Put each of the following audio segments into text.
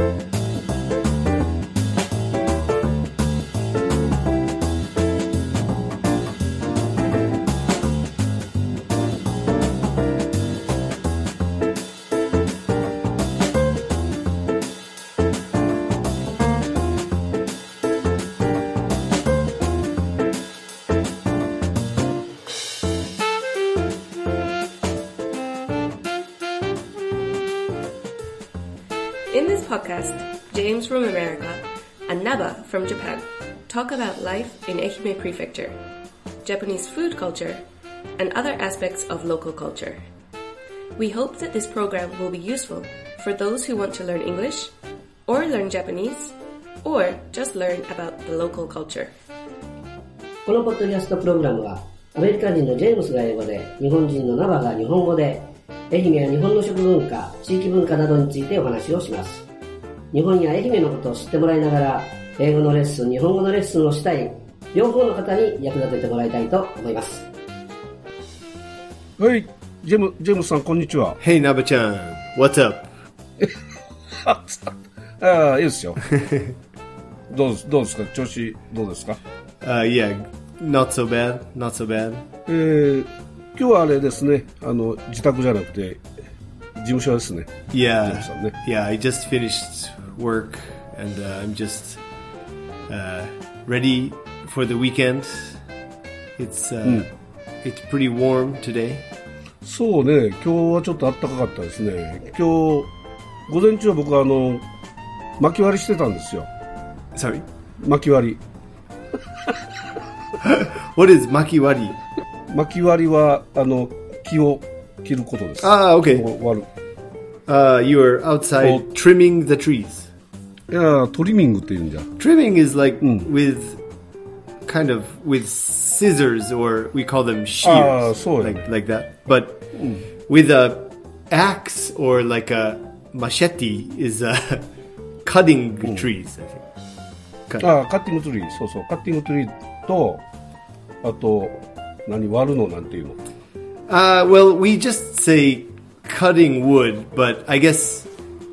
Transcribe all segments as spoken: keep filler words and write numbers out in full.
In this podcast, James from America and Naba from Japan talk about life in Ehime Prefecture, Japanese food culture, and other aspects of local culture. We hope that this program will be useful for those who want to learn English, or learn Japanese, or just learn about the local culture. このポッドキャストプログラムは、アメリカ人のジェームスが英語で、日本人のナバが日本語で、愛媛や日本の食文化、地域文化などについてお話をします。日本や愛媛のことを知ってもらいながら、英語のレッスン、日本語のレッスンをしたい、両方の方に役立ててもらいたいと思います。 はい、ジェム、ジェームスさん、こんにちは。 Hey, Naba-chan. What's up? ああ、いいですよ。どうです、どうですか、調子どうですか？ Uh, yeah, not so bad, not so bad. えー、今日はあれですね、あの、自宅じゃなくて、事務所ですね。 Yeah, ジェームスさんね。 yeah, I just finished work and、uh, I'm just、uh, ready for the weekend. It's,、uh, うん、it's pretty warm today. そうね、今日はちょっと暖かかったですね。今日、午前中は僕はあの、薪割りしてたんですよ。 Sorry? 薪割り。 What is 薪割り？ 薪割りは、あの、木を切ることです。 ああ、OK。 割る。 Uh, you are outside trimming the trees. いや、トリミングって言うんじゃ。 Trimming is like、うん、with kind of with scissors or we call them shears. ああ、そうやね。 Like, like that. But、うん、with a axe or like a machete is、uh, cutting、うん、trees, I think. ああ、カッティングトリー。そうそう。カッティングトリーと、あと、何、割るのなんていうの？ Uh, well, we just say cutting wood, but I guess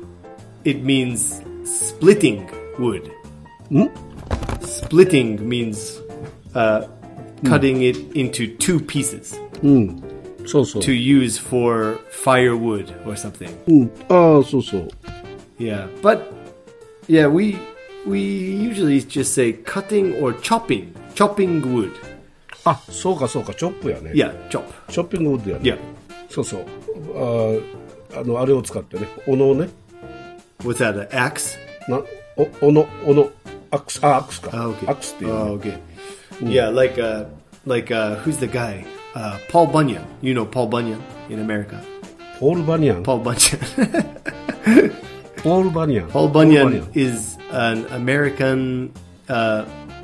it means splitting wood. ん? Splitting means uh, cutting、うん、it into two pieces. うん。そうそう。 To use for firewood or something. うん。ああ、そうそう。 Yeah, but yeah, we we usually just say cutting or chopping. Chopping wood. あ、そうかそうか、チョップやね。 Yeah, chop. チョッピングウッドやね。 Yeah. そうそう。ああの、あれを使ってね。斧をね。 What's that, an axe? な、お、斧、斧。アクス、あ、アクスか。 Ah, okay. アクスっていう、ね。 Oh, okay. Yeah, like, uh, like, uh, who's the guy? Uh, Paul Bunyan. You know Paul Bunyan in America? ポール・バニャン。 Paul Bunyan. ポール・バニャン。 Paul Bunyan is an American, uh,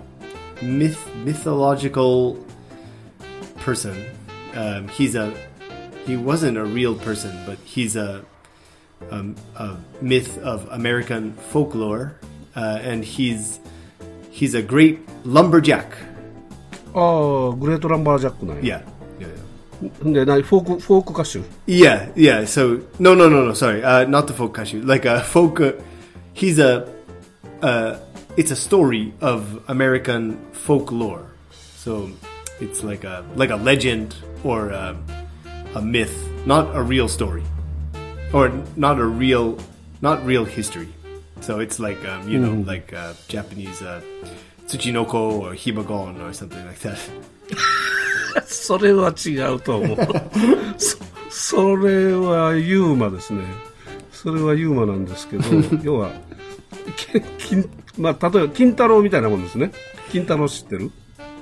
myth, mythological person. Um, he's a, he wasn't a real person, but he's a, um, a myth of American folklore, uh, and he's, he's a great lumberjack. ああ、グレートランバージャックなんや。 Yeah. Yeah, yeah. で、な、フォーク、フォーク歌手。 Yeah, yeah. So no, no, no, no. Sorry, uh, not the folk kashu. Like a folk. Uh, he's a. Uh, it's a story of American folklore. So it's like a like a legend or a, a myth, not a real story, or not a real, not real history. So it's like um, you know, like uh, Japanese uh, Tsuchinoko or Hibagon or something like that. それは違うと思う。そ, それはユーマですね。それはユーマなんですけど、要は、金まあ、例えば金太郎みたいなもんですね。金太郎知ってる？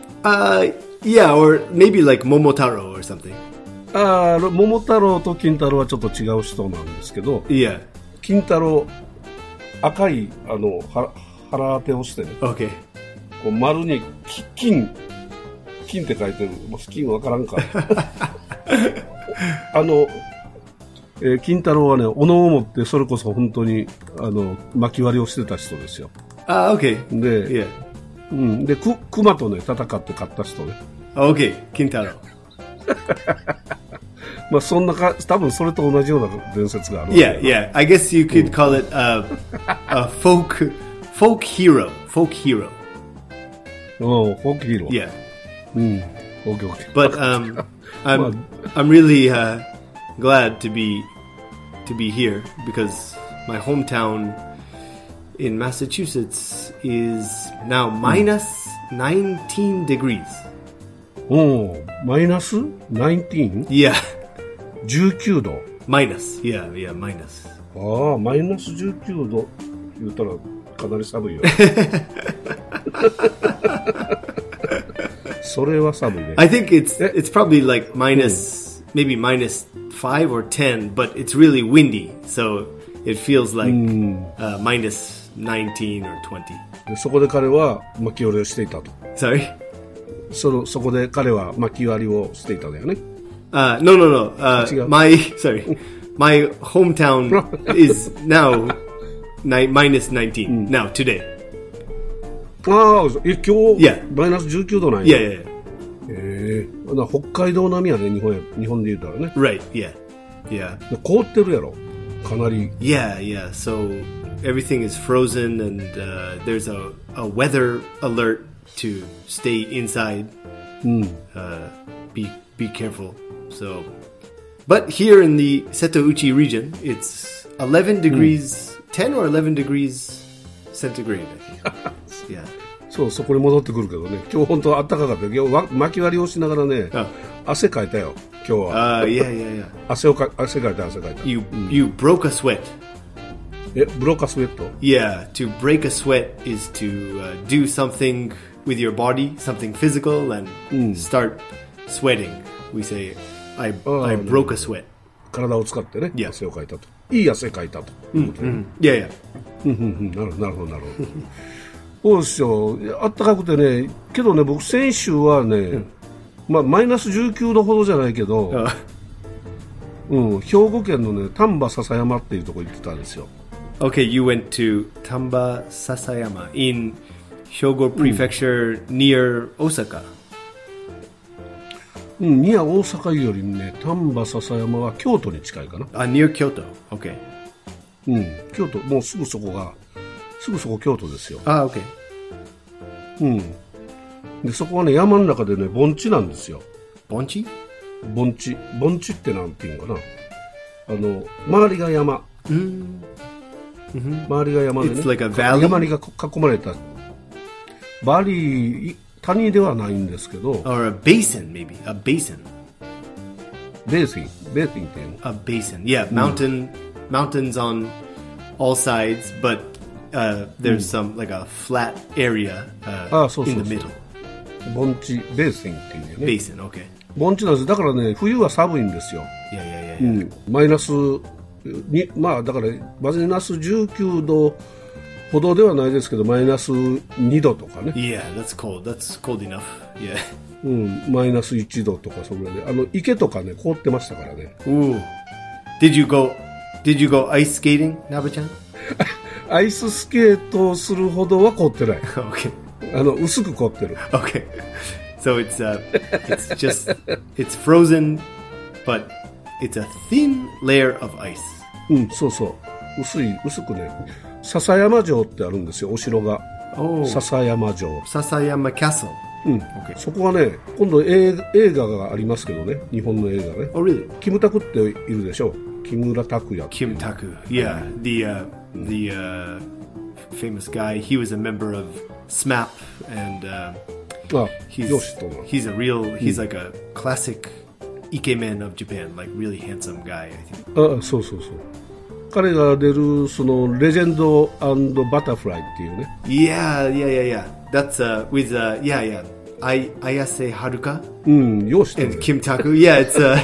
Uh, yeah, or maybe like Momotaro or something. ああ、桃太郎と金太郎はちょっと違う人なんですけど、 Yeah. 金太郎、赤い、あの、は腹当てをしてね。 Okay. こう丸に金、金って書いてる。もう金わからんか。あの、えー、金太郎はね、斧を持ってそれこそ本当にあの薪割りをしてた人ですよ。 あ、uh, OK。 で、 yeah. うん、で、く、熊とね、戦って勝った人ね。 OK、金太郎。 まあそんなか、多分それと同じような伝説がある。 Yeah, yeah. I guess you could call it a, a folk folk hero. Folk hero. うん、フォークヒーロー。 Yeah. うん。オッケーオッケー。 But um, I'm I'm really uh, glad to be to be here because my hometown in Massachusetts is now minus nineteen degrees. おー、マイナス じゅうきゅう? Yeah, じゅうきゅうど。 minus. Yeah, yeah, minus. ああ、マイナスじゅうきゅうど言ったらかなり寒いよ。それは寒いね。 I think it's it's probably like minus maybe minus five or ten, but it's really windy, so it feels like uh, minus nineteen or twenty. でそこで彼は巻き割りをしていたと。 Sorry. そのそこで彼は巻き割りをしていたんだよね。 Uh, no, no, no. Uh, my sorry, my hometown is now ni- minus nineteen now today. ああ、え、今日、 Yeah. マイナスじゅうきゅうどなんや。 Yeah, yeah, yeah. ええだから北海道並みやね、日本や、日本で言うたらね。 Right. Yeah, yeah, で凍ってるやろ。かなり。 yeah, yeah. So everything is frozen, and uh, there's a, a weather alert to stay inside. Uh, be be careful. So, but here in the Setouchi region, it's eleven degrees, ten or eleven degrees centigrade. I think. Yeah. そう、そこに戻ってくるけどね。今日本当は暖かかったよ。今日わ巻き割りをしながらね、 あ汗かいたよ、今日は。 Uh, yeah, yeah, yeah. 汗をか、汗かいた、汗かいた。 You you broke a sweat. え、ブローカスウェット Yeah, to break a sweat is to uh, do something with your body, something physical, and start sweating. We say, I Oh, I no. broke a sweat. 体を使ってね、 Yeah. 汗をかいたと。いい汗かいたと。いうことね Yeah, yeah. うんうんうんなるほど、なるほど、なるほど。そうですよ。あったかくてね、けどね、僕先週はね、まあマイナスじゅうきゅうどほどじゃないけど、 Uh, うん、兵庫県のね、丹波篠山っていうところ行ってたんですよ。 okay, you went to Tamba Sasayama in Hyogo Prefecture near Osaka. うん、いや、大阪よりね、丹波篠山は京都に近いかな。 Uh, near Kyoto. Okay. うん、京都、もうすぐそこが、すぐそこ京都ですよ。 Ah, okay. うん。で、そこはね、山の中でね、盆地なんですよ。 Bonchi? 盆地。盆地ってなんていうのかな。あの、周りが山。周りが山でね。 It's like a valley? 山にが囲まれた。バリー、谷ではないんですけど、 Or a basin, maybe. A basin. ベーシン、ベーシンっていうの。 A basin. Yeah, mountain mountains on all sides, but uh, there's some like a flat area uh, Ah, so, in so, the so. middle. 盆地、ベーシンっていうね。 Basin, okay. 盆地なんです。だからね、冬は寒いんですよ。 Yeah, yeah, yeah. う yeah. ん、マイナスに、まあだからマイナスじゅうきゅうどほどではないですけど、マイナスにどとかね、 Yeah, that's cold. That's cold enough. Yeah. うん、マイナスいちどとかそれぐらいで、あの池とかね凍ってましたからね。 Ooh. Did you go? Did you go ice skating, Naba-chan? アイススケートをするほどは凍ってない。 Okay. あの薄く凍ってる。 Okay. So it's uh, it's just it's frozen, but it's a thin layer of ice. うん、そうそう。薄い薄くね。笹山城ってあるんですよ、お城が。 Oh, 笹山城。 Sasayama Castle. うん。 Okay. そこはね、今度映画映画がありますけどね、日本の映画ね。 Oh, really? キムタクっているでしょ。木村拓哉。 Kim Taku. Yeah, the uh, the uh, famous guy. He was a member of S M A P, and uh, あ、 he's よしとな。 he's a real he's like a classic ikemen of Japan, like really handsome guy. I think. あ、そうそうそう。彼が出るそのレジェンド&バタフライっていうね。 Yeah, yeah, yeah, yeah. That's uh, with uh, yeah, yeah. I Ayase Haruka うん、よしと and ね。 Kim Taku. Yeah, it's uh,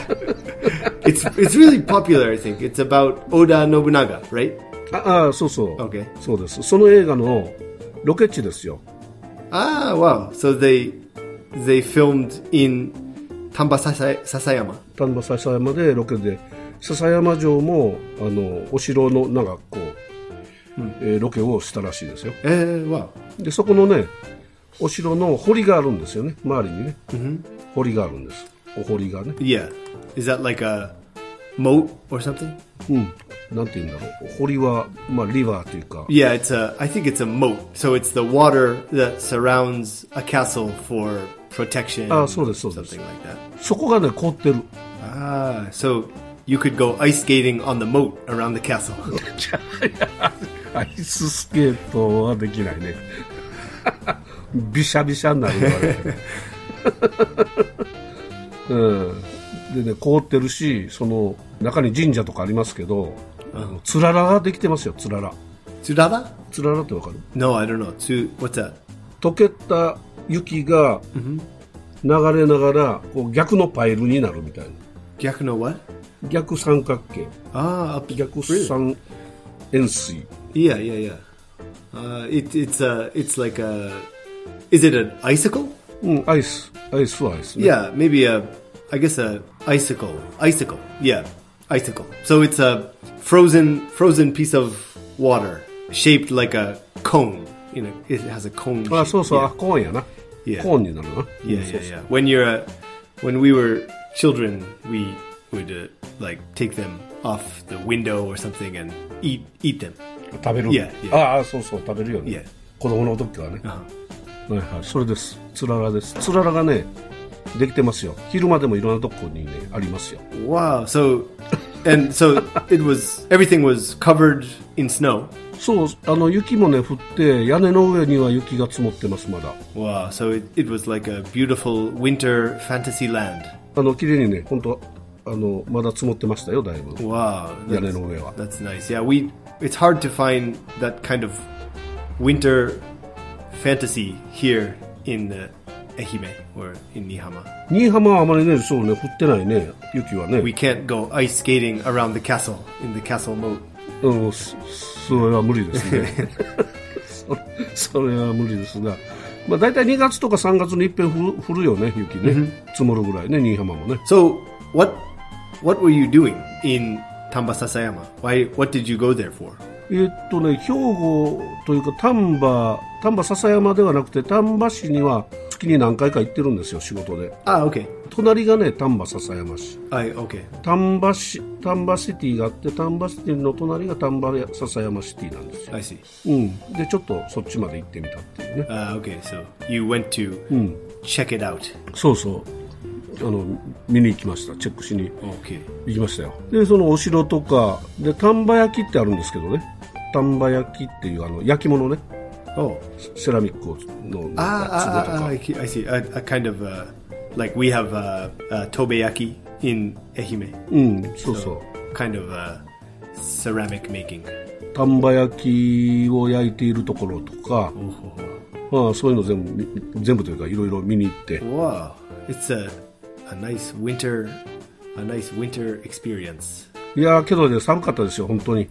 it's it's really popular. I think it's about Oda Nobunaga, right? ああ、そうそう。 Okay. そうです。その映画のロケ地ですよ。 Ah, wow. So they they filmed in Tamba Sasa- Sasayama. 丹波篠山でロケで、篠山城もあのお城のなんかこう、えーロケをしたらしいですよ。 Uh, wow. でそこのね、お城の堀があるんですよね。周りにね、堀があるんです。お堀がね。 Yeah. Is that like a moat or something? うん。なんて言うんだろう。堀は、まあ、リバーというか。 Yeah, it's a. I think it's a moat. So it's the water that surrounds a castle for protection. あ、そうです、そうです。 Something like that. そこがね、凍ってる。 Ah, so you could go ice skating on the moat around the castle. アイススケートはできないね。びしゃびしゃになるからね。うん。でね、凍ってるし、その中に神社とかありますけど、あのつららができてますよ、つらら。 つらら？ つららってわかる？ No, I don't know. Tsu, what's that? 溶けた雪が流れながらこう逆のパイルになるみたいな。 逆の what? 逆三角形。 ああ、 逆三円錐。 Yeah, yeah, yeah. Uh, it, it's a, it's like a, is it an icicle? うん、アイス、アイスはアイスね。 Yeah, maybe a, I guess a icicle, icicle. Yeah, icicle. So it's a frozen, frozen piece of water shaped like a cone. You know, it has a cone. あ、 shape. そうそう、 Yeah. あ、コーンやな。 Yeah. コーンになるな。 Yeah, うん yeah, そうそう yeah. When you're, uh, when we were children, we would uh, like take them off the window or something and eat, eat them. 食べる。 Yeah, yeah. ああ、そうそう、食べるよね。 Yeah. 子供の時はね。 Uh-huh. はいはい、それです。つららです。つららがね、できてますよ。昼間でもいろんなとこにね、ありますよ。 Wow. So, and so it was, everything was covered in snow. そう、あの、雪もね、降って、屋根の上には雪が積もってます、まだ。 Wow. So it, it was like a beautiful winter fantasy land. あの、綺麗にね、本当あの、まだ積もってましたよ、だいぶ。 Wow. 屋根の上は。 That's nice. Yeah, we, it's hard to find that kind of winter fantasy here in uh, Ehime or in Nihama. 新居浜はあまりね、そうね、降ってないね、雪はね。 We can't go ice skating around the castle, in the castle moat. うん、そそれは無理ですね。そそれは無理ですが。まあ大体にがつとかさんがつに一遍降る降るよね、雪ね。積もるぐらいね、新居浜もね。 So, what, what were you doing in Tambasasayama? Why, what did you go there for? えーっとね、兵庫というか丹波、丹波篠山ではなくて丹波市には月に何回か行ってるんですよ、仕事で。 Ah, okay. 隣がね、丹波篠山市。 I, okay. 丹波市、丹波シティがあって、丹波シティの隣が丹波篠山シティなんですよ。 I see. うん。で、ちょっとそっちまで行ってみたっていうね。 Uh, okay, so you went to check it out. そうそう。あの、見に行きました。チェックしに Okay. 行きましたよ。で、そのお城とか、で、丹波焼きってあるんですけどね。丹波焼きっていうあの、焼き物ね。 Oh. セラミックの Ah, 壺と ah, ah, か。 I see. I see. A, a kind of, uh, like we have uh, uh, tobeyaki in Ehime. うん、そうそう。 Kind of uh, ceramic making. 丹波焼きを焼いているところとか、 Oh. まあ、そういうの全部、全部というかいろいろ見に行って。 Wow. It's a, a nice winter, a nice winter experience. いやーけどね、寒かったですよ、本当に。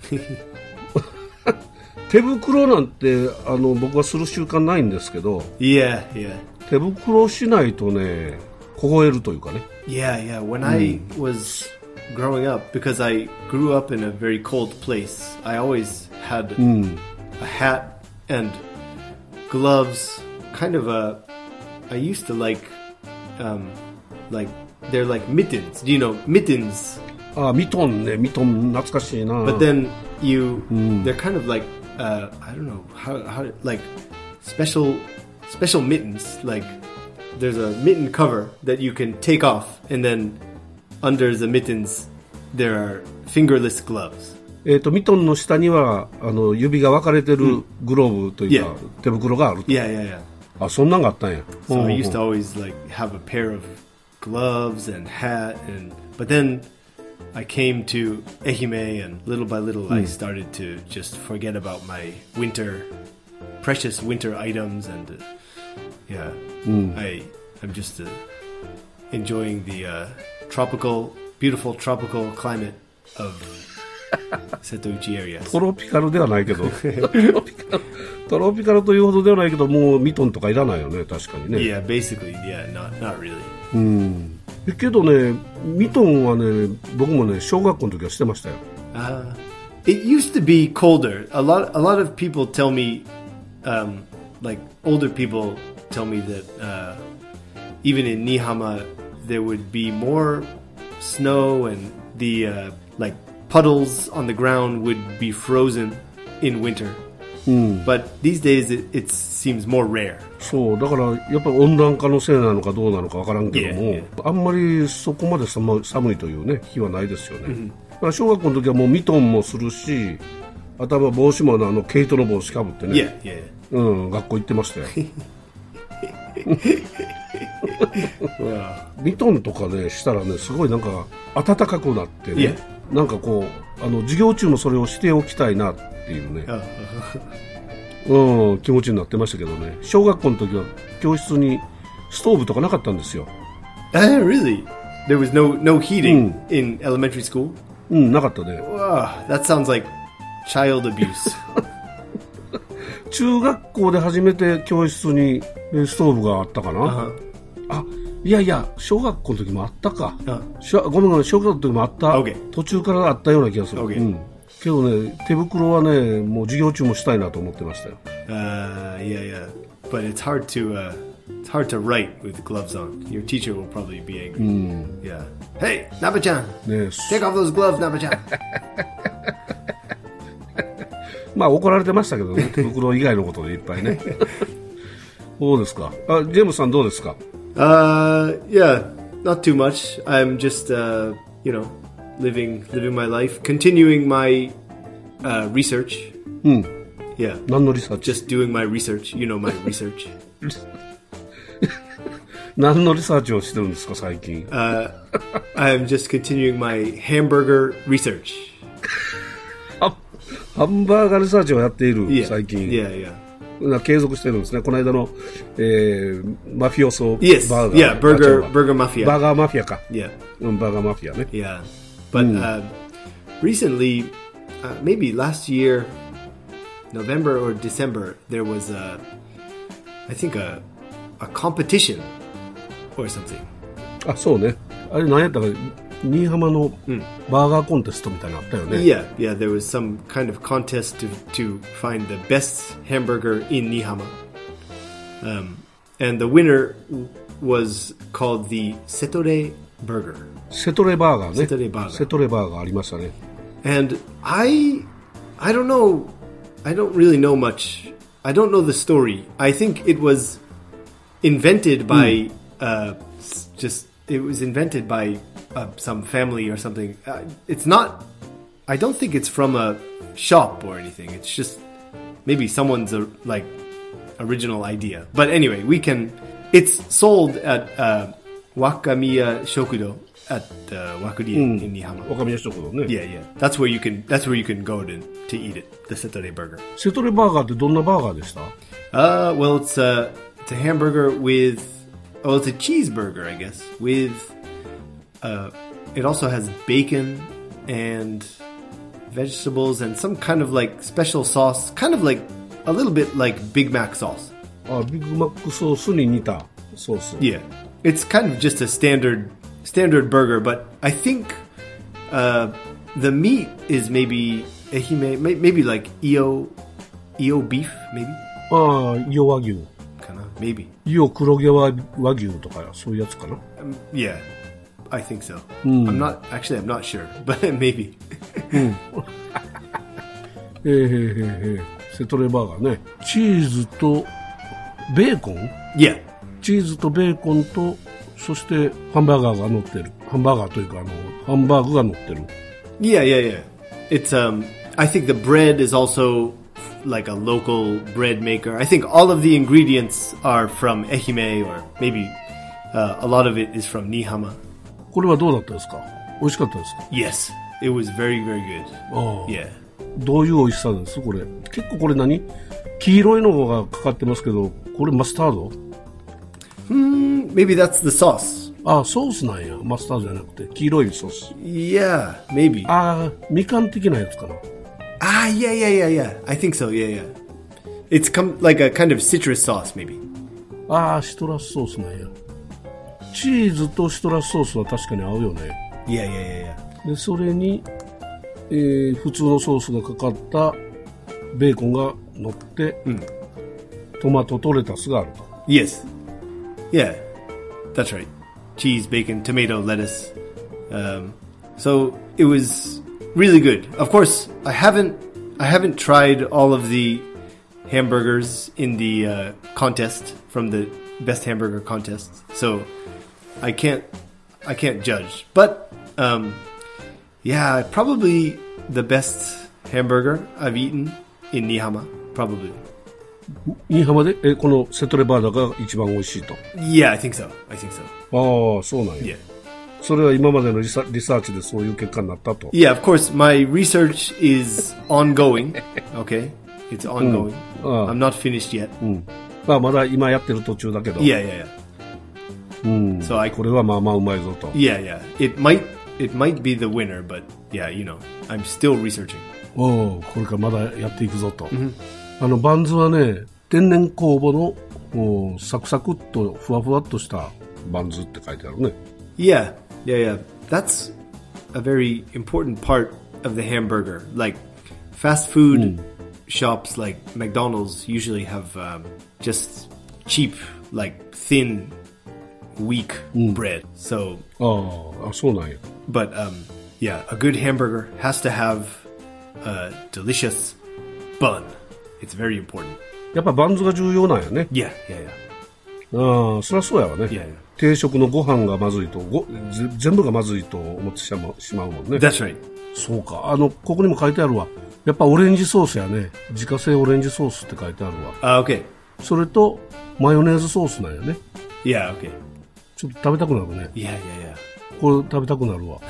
手袋なんてあの僕はする習慣ないんですけど、 Yeah, yeah. 手袋しないとね、凍えるというかね。 Yeah, yeah. When I was growing up, because I grew up in a very cold place, I always had a hat and gloves. Kind of a. I used to like, um, like they're like mittens. Do you know mittens? あ、ミトンね、ミトン懐かしいな。 But then you, they're kind of like, uh, I don't know how, how, like special, special mittens. Like there's a mitten cover that you can take off, and then under the mittens there are fingerless gloves. えっとミトンの下にはあの指が分かれてるグローブというか、 Yeah. 手袋があると。 Yeah, yeah, yeah. あ、そんなんがあったんや。 So うん I used to always like have a pair of gloves and hat, and but then I came to Ehime, and little by little I started to just forget about my winter, precious winter items, and uh, yeah, I I'm just uh, enjoying the uh, tropical, beautiful tropical climate of Setouchi area. トロピカルではないけどトロピカルトロピカルというほどではないけど、もうミトンとかいらないよね、確かにね。 Yeah, basically, yeah, not not really. うんけどね、ミトンはね、僕もね、小学校の時はしてましたよ。 Uh, it used to be colder. A lot, a lot of people tell me, um, like older people tell me that uh, even in Nihama there would be more snow and the uh, like puddles on the ground would be frozen in winter. But these days it, it seems more rare. そうだからやっぱり温暖化のせいなのかどうなのかわからんけども、 Yeah, yeah. あんまりそこまで寒寒いというね日はないですよね。Mm-hmm. だから小学校の時はもうミトンもするし、頭帽子もあの毛糸の帽子かぶってね。 Yeah, yeah. うん、学校行ってましたよ。ミトンとかねしたらねすごいなんか暖かくなってね、 Yeah. なんかこうあの授業中もそれをしておきたいなっていうね、うん、気持ちになってましたけどね。小学校の時は教室にストーブとかなかったんですよ。 Uh, really? There was no no heating in elementary school? うん、なかったね。 Wow, that sounds like child abuse. 中学校で初めて教室にストーブがあったかな。 Uh-huh. あ、いやいや、小学校の時もあったか。 Uh-huh. しょごめんごめん、小学校の時もあった。 Okay. 途中からあったような気がする。 Okay. うん。けどね、手袋はね、もう授業中もしたいなと思ってましたよ。 Uh, yeah, yeah. But it's hard to uh, it's hard to write with gloves on. Your teacher will probably be angry. Yeah. Hey, Naba-chan, ね、 take off those gloves, Naba-chan. まあ怒られてましたけどね、手袋以外のことでいっぱいね。そうですか。あ、ジェームスさんどうですか？ Uh, yeah, not too much. I'm just, uh, you know, living living my life, continuing my uh, research. うん。 Yeah, 何のリサーチ？ just doing my research. You know my research. 何のリサーチをしてるんですか最近？ Uh, I'm just continuing my hamburger research. ハンバーガーリサーチをやっている Yeah, 最近。 yeah, yeah. 継続してるんですね。この間の、えー、マフィオソ Yes, バーガー。 yeah, burger あ違う burger mafia. バーガーマフィアか。 Yeah, うん、バーガーマフィアね。 yeah. But uh, recently, uh, maybe last year, November or December, there was a, I think a, a competition or something. あ、そうね。あれ何やったか、新居浜のバーガーコンテストみたいなのあったよね。 Yeah, yeah. There was some kind of contest to to find the best hamburger in Nihama, um, and the winner was called the Setore Burger. セトレバーガーね。 セトレバーガーセトレバーガーありましたね。 And I, I don't know, I don't really know much. I don't know the story. I think it was invented by, uh, s- just it was invented by uh, some family or something. Uh, it's not. I don't think it's from a shop or anything. It's just maybe someone's uh, like original idea. But anyway, we can. It's sold at uh, Wakamiya Shokudo at uh, Wakurie in Nihama. 若宮食堂ね。 Yeah, yeah. That's where you can. That's where you can go to to eat it. The Setore burger. セトレバーガーってどんなバーガーでした？ Uh, well, it's a it's a hamburger with. Oh, it's a cheeseburger, I guess. With, uh, it also has bacon and vegetables and some kind of like special sauce, kind of like a little bit like Big Mac sauce. あ、ビッグマックソースに似たソース。 Yeah, it's kind of just a standard standard burger, but I think uh, the meat is maybe ehime, may- maybe like eo eo beef, maybe. ああ、イオ和牛。 Kinda, maybe. イオ黒毛和和牛とかそういうやつかな。 Um, yeah, I think so. I'm not actually. I'm not sure, but maybe. えー、へーへーへーセトレバーガーね。チーズとベーコン？ Yeah. チーズとベーコンとそしてハンバーガーが乗ってる。ハンバーガーというかあのハンバーグが乗ってる。 Yeah, yeah, yeah. It's um I think the bread is also like a local bread maker. I think all of the ingredients are from Ehime or maybe uh, a lot of it is from Nihama. これはどうだったですか？美味しかったですか？ Yes, it was very very good. ああ、 Yeah. どういう美味しさですこれ？結構これ何？黄色いのがかかってますけど、これマスタード？ Maybe that's the sauce. ああ、ソースなんや。マスタードじゃなくて黄色いソース。 Yeah, maybe. ああ、みかん的なやつかな。 Ah, yeah, yeah, yeah, yeah. I think so. Yeah, yeah. It's come like a kind of citrus sauce, maybe. ああ、シトラスソースなんや。チーズとシトラスソースは確かに合うよね。 Yeah, yeah, yeah, yeah. で、それに、えー普通のソースがかかったベーコンが乗って、トマトとレタスがあると。 Yes. Yeah, that's right. Cheese, bacon, tomato, lettuce. Um, So it was really good. Of course, I haven't I haven't tried all of the hamburgers in the uh, contest from the best hamburger contest. So I can't I can't judge. But um, yeah, probably the best hamburger I've eaten in Nihama. Probably. 新居浜でえこのセトレバーダが一番美味しいと。 Yeah, I think so. I think so. ああ、そうなんや。 Yeah. それは今までのリサ、リサーチでそういう結果になったと。 Yeah, of course, my research is ongoing. Okay? It's ongoing. Ah. I'm not finished yet. うん。まあまだ今やってる途中だけど。 Yeah, yeah, yeah. うん。 So I これはまあまあうまいぞと。 Yeah, yeah. It might it might be the winner, but yeah, you know, I'm still researching. おお、これからまだやっていくぞと。あのバンズはね、天然酵母のもうサクサクっとふわふわっとしたバンズって書いてあるね。 Yeah, yeah, yeah. That's a very important part of the hamburger. Like fast food shops like McDonald's usually have um, just cheap, like thin, weak bread. So, ああ、そうなんや。 but um, yeah, a good hamburger has to have a delicious bun. It's very important. やっぱバンズが重要なんやね。 Yeah, yeah, yeah. ああ、そりゃそうやわね。 Yeah, yeah. 定食のご飯がまずいとごぜ全部がまずいと思ってしまう、しまうもんね。 That's right. そうか。あのここにも書いてあるわ。やっぱオレンジソースやね。自家製オレンジソースって書いてあるわ。 Uh, okay. それとマヨネーズソースなんやね。 Yeah, okay. ちょっと食べたくなるね。 Yeah, yeah, yeah. これ食べたくなるわ。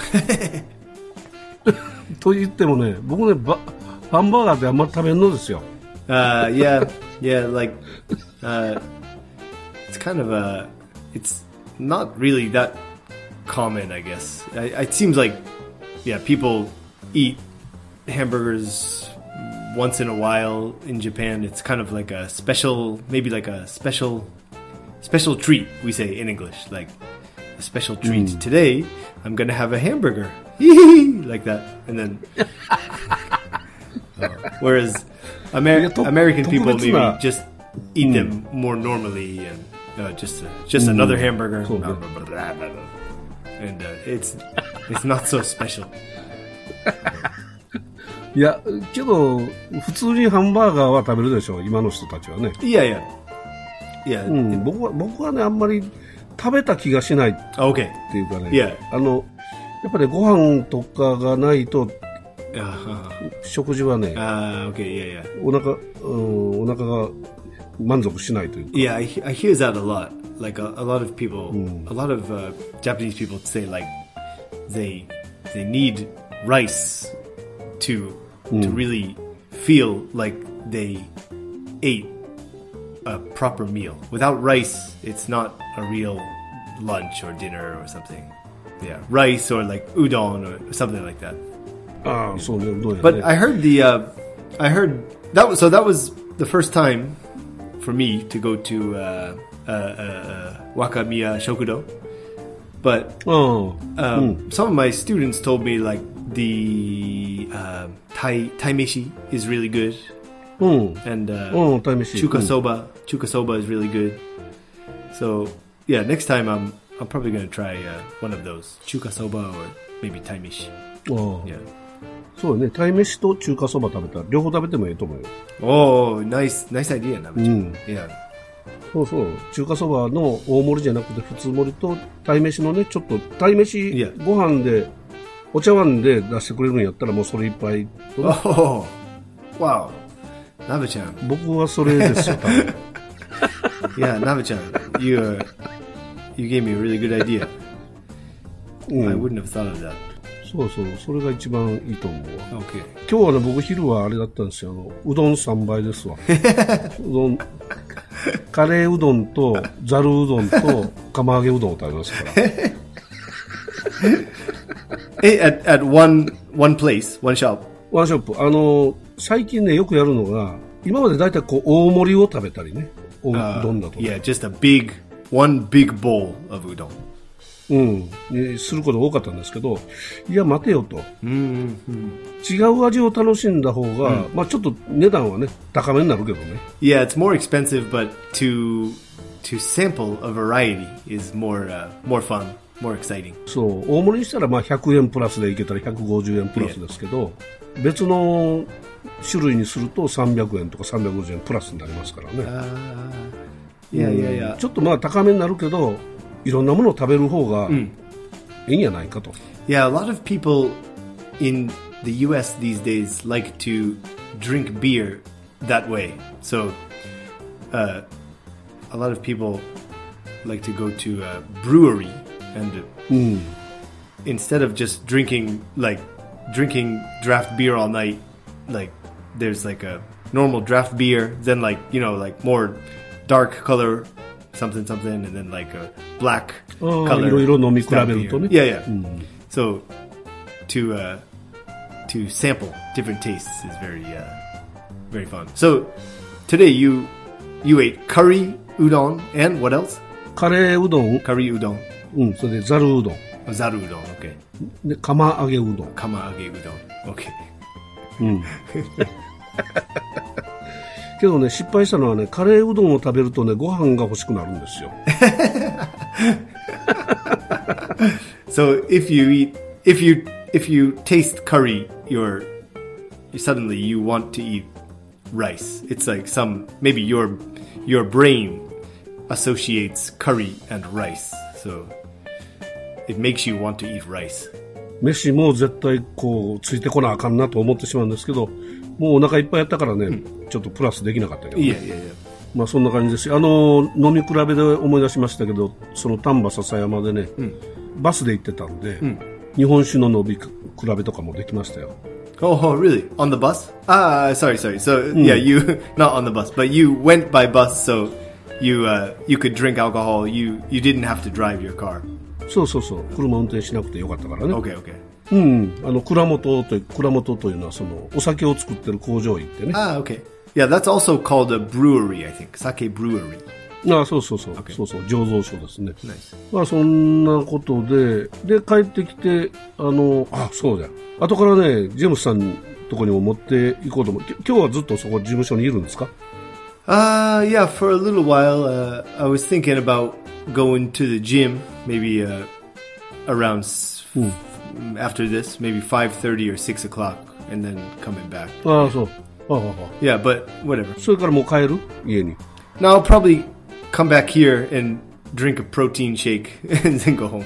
と言ってもね、僕ねバハンバーガーってあんまり食べんのですよ。 Uh, yeah, yeah, like, uh, it's kind of a, it's not really that common, I guess. I, it seems like, yeah, people eat hamburgers once in a while in Japan. It's kind of like a special, maybe like a special, special treat, we say in English, like a special treat. Today, I'm gonna have a hamburger, like that, and then, uh, whereas, Amer- Yeah, to- American people maybe 特別な- just eat them more normally and uh, just uh, just another hamburger, Cool. blah, blah, blah, blah, blah, blah. and uh, it's it's not so special. いやけど普通にハンバーガーは食べるでしょ。今の人たちはね。 Yeah, yeah, yeah. うん、僕は僕はねあんまり食べた気がしないっ Okay. ていうかね。 Yeah. あのやっぱりご飯とかがないと Uh, 食事はね uh, okay. Yeah, yeah. お腹、うん、お腹が満足しないというか。 Yeah, I, he- I hear that a lot. Like a, a lot of people, a lot of uh, Japanese people say like they they need rice to to really feel like they ate a proper meal. Without rice, it's not a real lunch or dinner or something. Yeah, rice or like udon or something like that. ああ、そうね、どうやね。 But I heard the, uh, I heard that was so that was the first time for me to go to uh, uh, uh, uh, Wakamiya Shokudo. But うん、 um, some of my students told me like the uh, Thai Thai meshi is really good, うん、 and uh, うん、鯛めし。 chuka soba chuka soba is really good. So yeah, next time I'm I'm probably gonna try uh, one of those chuka soba or maybe Thai meshi. うん、 Yeah. そうね、鯛めしと中華そば食べたら両方食べてもいいと思うよ。 Oh, nice nice idea, Namachi. Mm. Yeah. そうそう、中華そばの大盛りじゃなくて普通盛りと鯛めしのね、ちょっと鯛めし Yeah. ご飯でお茶碗で出してくれるんやったらもうそれいっぱいとね、 Oh, wow. Naba-chan. 僕はそれですよ、多分。 Yeah, Naba-chan. You, uh, you gave me a really good idea. うん I wouldn't have thought of that. そうそう、それが一番いいと思うわ。 Okay. 今日はね、僕昼はあれだったんですよ。あのうどんさんばいですわ。うどん、カレーうどんとざるうどんと釜揚げうどんを食べましたから。 Hey, at, at one, one place, one shop. ワンショップ。あの、最近ね、よくやるのが、今までだいたいこう、大盛りを食べたりね。おう Uh, どんだと、ね。 yeah, just a big, one big bowl of udon. うん。にすることが多かったんですけど、いや、待てよと。 Mm-hmm. 違う味を楽しんだ方が、まあちょっと値段はね、高めになるけどね。 Yeah, it's more expensive, but to to sample a variety is more uh, more fun. more exciting. そう、大盛りにしたらまあひゃくえんプラスでいけたらひゃくごじゅうえんプラスですけど、別の種類にするとさんびゃくえんとかさんびゃくごじゅうえんプラスになりますからね。 Uh, yeah, yeah, yeah. ちょっとまあ高めになるけど、いろんなものを食べる方がいいんやないかと。 Yeah, a lot of people in the U S these days like to drink beer that way. So, uh, a lot of people like to go to a brewery and mm. instead of just drinking like drinking draft beer all night, like there's like a normal draft beer, then like, you know, like more dark color something something, and then like a black oh, color. いろいろ飲み比べるとね。 Yeah, yeah. Mm. So to uh, to sample different tastes is very uh, very fun. So today you you ate curry udon and what else? カレーうどん、 curry udon. うん、それでざるうどん、 Zaru udon. Okay. で釜揚げうどん、 Kama age udon. Okay. うん。けどね、失敗したのはね、カレーうどんを食べるとね、ご飯が欲しくなるんですよ。 So if you eat, if you if you taste curry, you're suddenly you want to eat rice. It's like some maybe your your brain associates curry and rice, so it makes you want to eat rice. 飯も絶対こうついてこなあかんなと思ってしまうんですけど、もうお腹いっぱいやったからね、うん、ちょっとプラスできなかったけど、ね。 いやいやいや。 まあそんな感じですよ。あの飲み比べで思い出しましたけど、その丹波篠山でね、うん、バスで行ってたんで、うん、日本酒の飲み比べとかもできましたよ。 Oh, really? On the bus? Ah, sorry, sorry. So, mm. yeah, you, not on the bus, but you went by bus, so you, uh, you could drink alcohol. You, you didn't have to drive your car. そうそうそう。車運転しなくてよかったからね。 Okay, okay. うん。あの、蔵元という、蔵元というのは、その、お酒を作ってる工場行ってね。 Ah, okay. Yeah, that's also called a brewery, I think. Sake brewery. ああ、そうそうそう。Okay. そうそう。醸造所ですね。 Nice. まあ、そんなことで、で、帰ってきて、あの、あ、そうだよ。後からね、ジェームスさんのとこにも持っていこうと思う。今日はずっとそこ事務所にいるんですか？ Uh, yeah, for a little while, uh, I was thinking about going to the gym, maybe, uh, around, mm. after this, maybe five thirty or six o'clock, and then coming back. ああ、そう。ああ、ああ。 Yeah, but whatever. それからもう帰る？家に。 No, I'll probably come back here and drink a protein shake and then go home.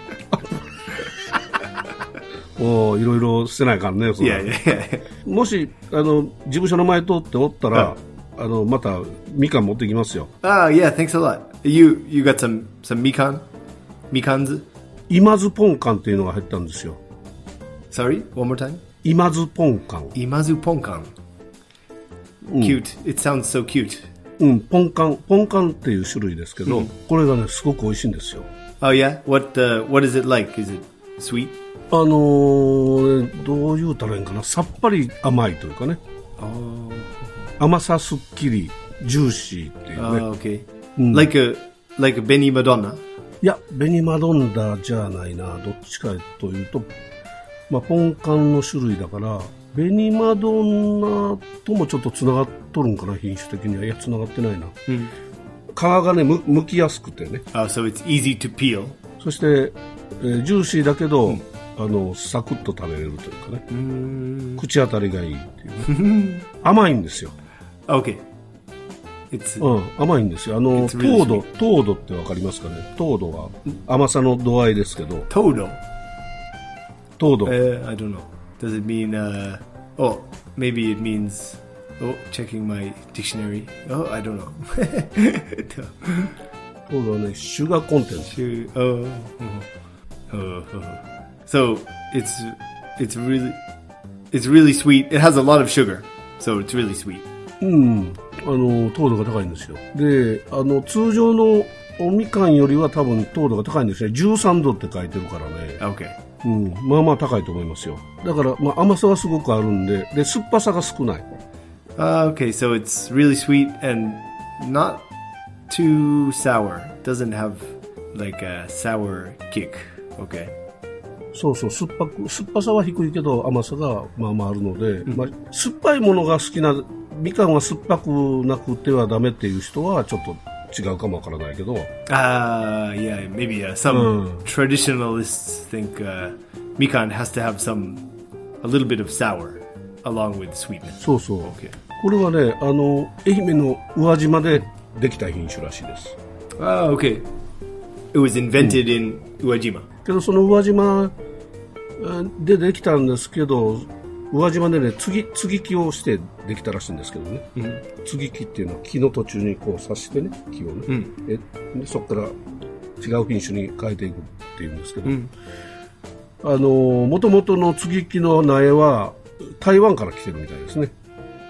おー、いろいろ捨てないかんね。 いやいやいや。 もし、あの、事務所の前通っておったら、あの、また、みかん持ってきますよ。 Ah, yeah, thanks a lot. You, you got some, some mikan? Mikans? 今津ポンカンっていうのが入ったんですよ。 Sorry? One more time? 今津ポンカン。 今津ポンカン。Cute. It sounds so cute. うん、ポンカン。ポンカンっていう種類ですけど、うん、これがね、すごく美味しいんですよ。 Oh, yeah? What, uh, what is it like? Is it sweet? あのー、どう言うたらいいんかな、さっぱり甘いというかね、 oh. 甘さすっきりジューシーっていうね。 Oh, okay. うん、like a like a Benny Madonna? いや、ベニマドンダじゃないな。どっちかというと、まあポンカンの種類だから、ベニマドンナともちょっとつながっとるんかな、品種的には。いや、つながってないな。うん、皮がね、む剥きやすくてね。 Oh, so it's easy to peel. そして、えー、ジューシーだけど、うん、あのサクッと食べれるというかね、うーん、口当たりがいいっていうね。甘いんですよ。 Okay. It's, うん、甘いんですよ。あの、 really 糖度、糖度ってわかりますかね。糖度は甘さの度合いですけど。 糖度。 糖度。 Uh, I don't know. Does it mean? Uh, oh, maybe it means. Oh, checking my dictionary. Oh, I don't know. 糖度はね、シュガーコンテンツ。 Oh, oh, oh. So it's it's really it's really sweet. It has a lot of sugar, so it's really sweet. うん、あの糖度が高いんですよ。で、あの通常のおみかんよりは多分糖度が高いんですね。じゅうさんどって書いてるからね。 Okay. うん、まあまあ高いと思いますよ。だからまあ甘さはすごくあるんで、で酸っぱさが少ない。 Uh, okay, so it's really sweet and not too sour. Doesn't have like a sour kick. Okay. そうそう、酸っぱく、酸っぱさは低いけど甘さがまあまああるので、うん、まあ、酸っぱいものが好きな、みかんは酸っぱくなくてはダメっていう人はちょっと違うかもわからないけど、 Uh, yeah, maybe uh, some Mm. traditionalists think uh, mikan has to have some, a little bit of sour along with sweetness. そうそう、 Okay. これはね、あの愛媛の宇和島でできた品種らしいです。 Ah, okay. It was invented in Uwajima. けどその宇和島でできたんですけど、宇和島でね、継ぎ継ぎ木をしてできたらしいんですけどね、うん、継ぎ木っていうのは木の途中にこう刺してね、木をね、うん、えでそこから違う品種に変えていくっていうんですけど、うん、あの元々の継ぎ木の苗は台湾から来てるみたいですね。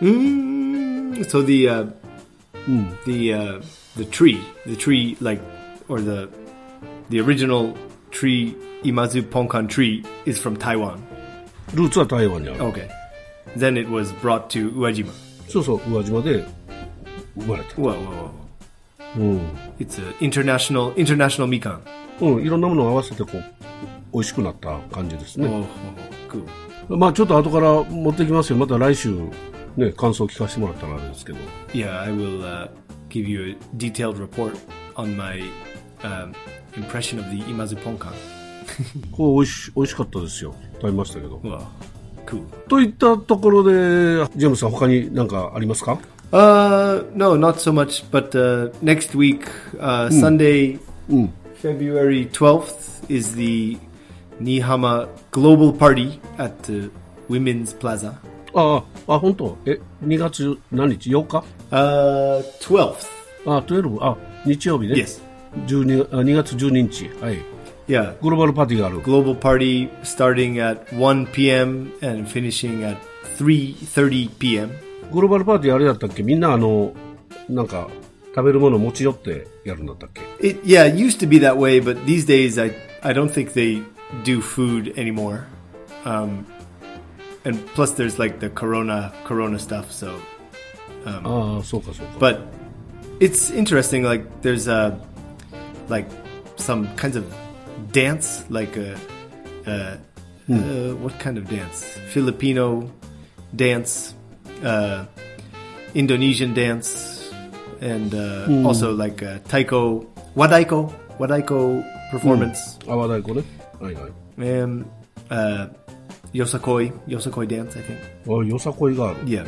Mm, so the uh, mm. the uh, the tree, the tree like or the the original tree, Imazu Ponkan tree, is from Taiwan. ルーツは台湾にある。 Okay. Then it was brought to Uwajima. そうそう、宇和島で生まれた。 Whoa, whoa, whoa. うん。It's an international international mikan. うん、いろんなものを合わせてこう美味しくなった感じですね。 Oh, cool. まあちょっと後から持ってきますよ。また来週ね、感想を聞かせてもらったらあれですけど。 Yeah, I will uh, give you a detailed report on my um, impression of the Imazu Ponkan. こう美味し美味しかったですよ。食べましたけど。 Wow, cool. といったところで、ジェームスさん他に何かありますか？ Uh, no, not so much. But uh, next week, uh, mm. Sunday, mm. February twelfth, is the Nihama Global Party at the Women's Plaza. ああ、あ、本当。え、にがつ何日？ようか？ Uh, twelfth. あ、じゅうに、あ、日曜日ね。 Yes. じゅうに、にがつじゅうににち。はい。 Yeah. グローバルパーティーがある。 Global Party starting at one p.m. and finishing at three thirty p.m. グローバルパーティーあれだったっけ？みんなあの、なんか、食べるもの持ち寄ってやるんだったっけ？ It, yeah, it used to be that way, but these days I, I don't think they do food anymore. Um, and plus there's like the corona, corona stuff, so. Um, ああ、そうかそうか。 But it's interesting, like there's a, like some kinds of dance, like a, uh, hmm. uh, what kind of dance? Filipino dance, uh, Indonesian dance, and uh, hmm. also like a taiko, wadaiko, wadaiko performance. Hmm. あ、和太鼓ね。はいはい。 And uh, yosakoi, yosakoi dance, I think. あ、よさこいがある。 Yeah.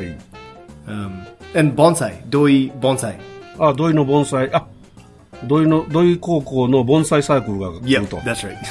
Um, and bonsai, doi bonsai. あ、土井の盆栽。あ、土井の土井高校の盆栽サークルが来ると。 Yep, that's right.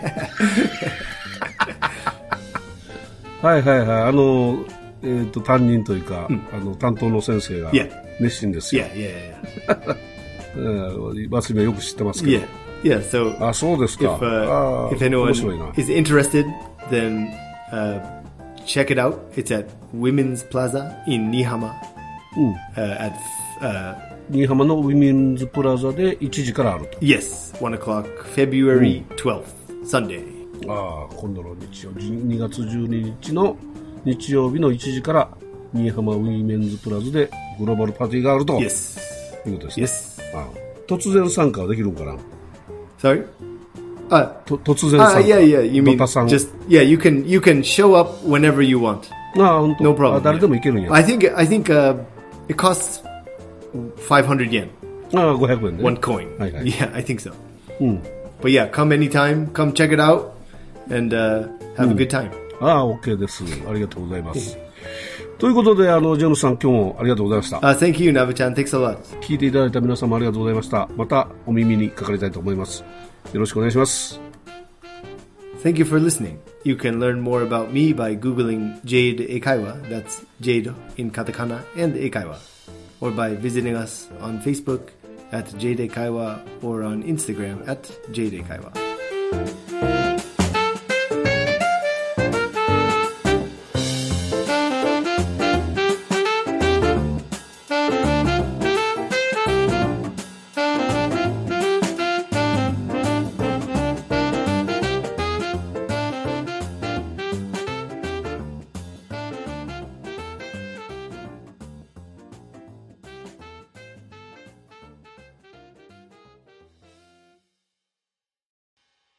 はいはいはい。あの、えっ、ー、と、担任というか、うん、あの、担当の先生が熱心ですよ。 Yeah, yeah, yeah. yeah. マスミはよく知ってますけど。 Yeah, yeah, so. あ、そうですか。 If, uh, if anyone is interested, then uh, check it out. It's at Women's Plaza in Nihama. うん。 Uh, at, uh, 新居浜のウィメンズプラザでいちじからあると。 Yes, one o'clock, February twelfth, Sunday. ああ、今度の日曜日、にがつじゅうににちの日曜日のいちじから新居浜ウィメンズプラザでグローバルパーティーがあると。 Yes. いうことですね。 Yes. ああ、突然参加はできるんかな？ Sorry? あ、 と突然参加。 Ah, yeah, yeah. You mean just yeah? You can you can show up whenever you want. ああ、本当。 No problem. あ、誰でも行けるんや。 I think I think uh, it costs five hundred yen. ああ、ごひゃくえんで、ね。 One coin. はいはい。 Yeah, I think so. うん。 But yeah, come anytime. Come check it out and uh, have a good time. ああ、OK です。ありがとうございます。ということで、あの、ジェームスさん、今日もありがとうございました。 Uh, thank you, Nabe-chan. Thanks a lot. 聞いていただいた皆様ありがとうございました。またお耳にかかりたいと思います。よろしくお願いします。 Thank you for listening. You can learn more about me by Googling Jade Eikaiwa. That's Jade in katakana and Eikaiwa. Or by visiting us on Facebook at Jade Eikaiwa or on Instagram at Jade Eikaiwa.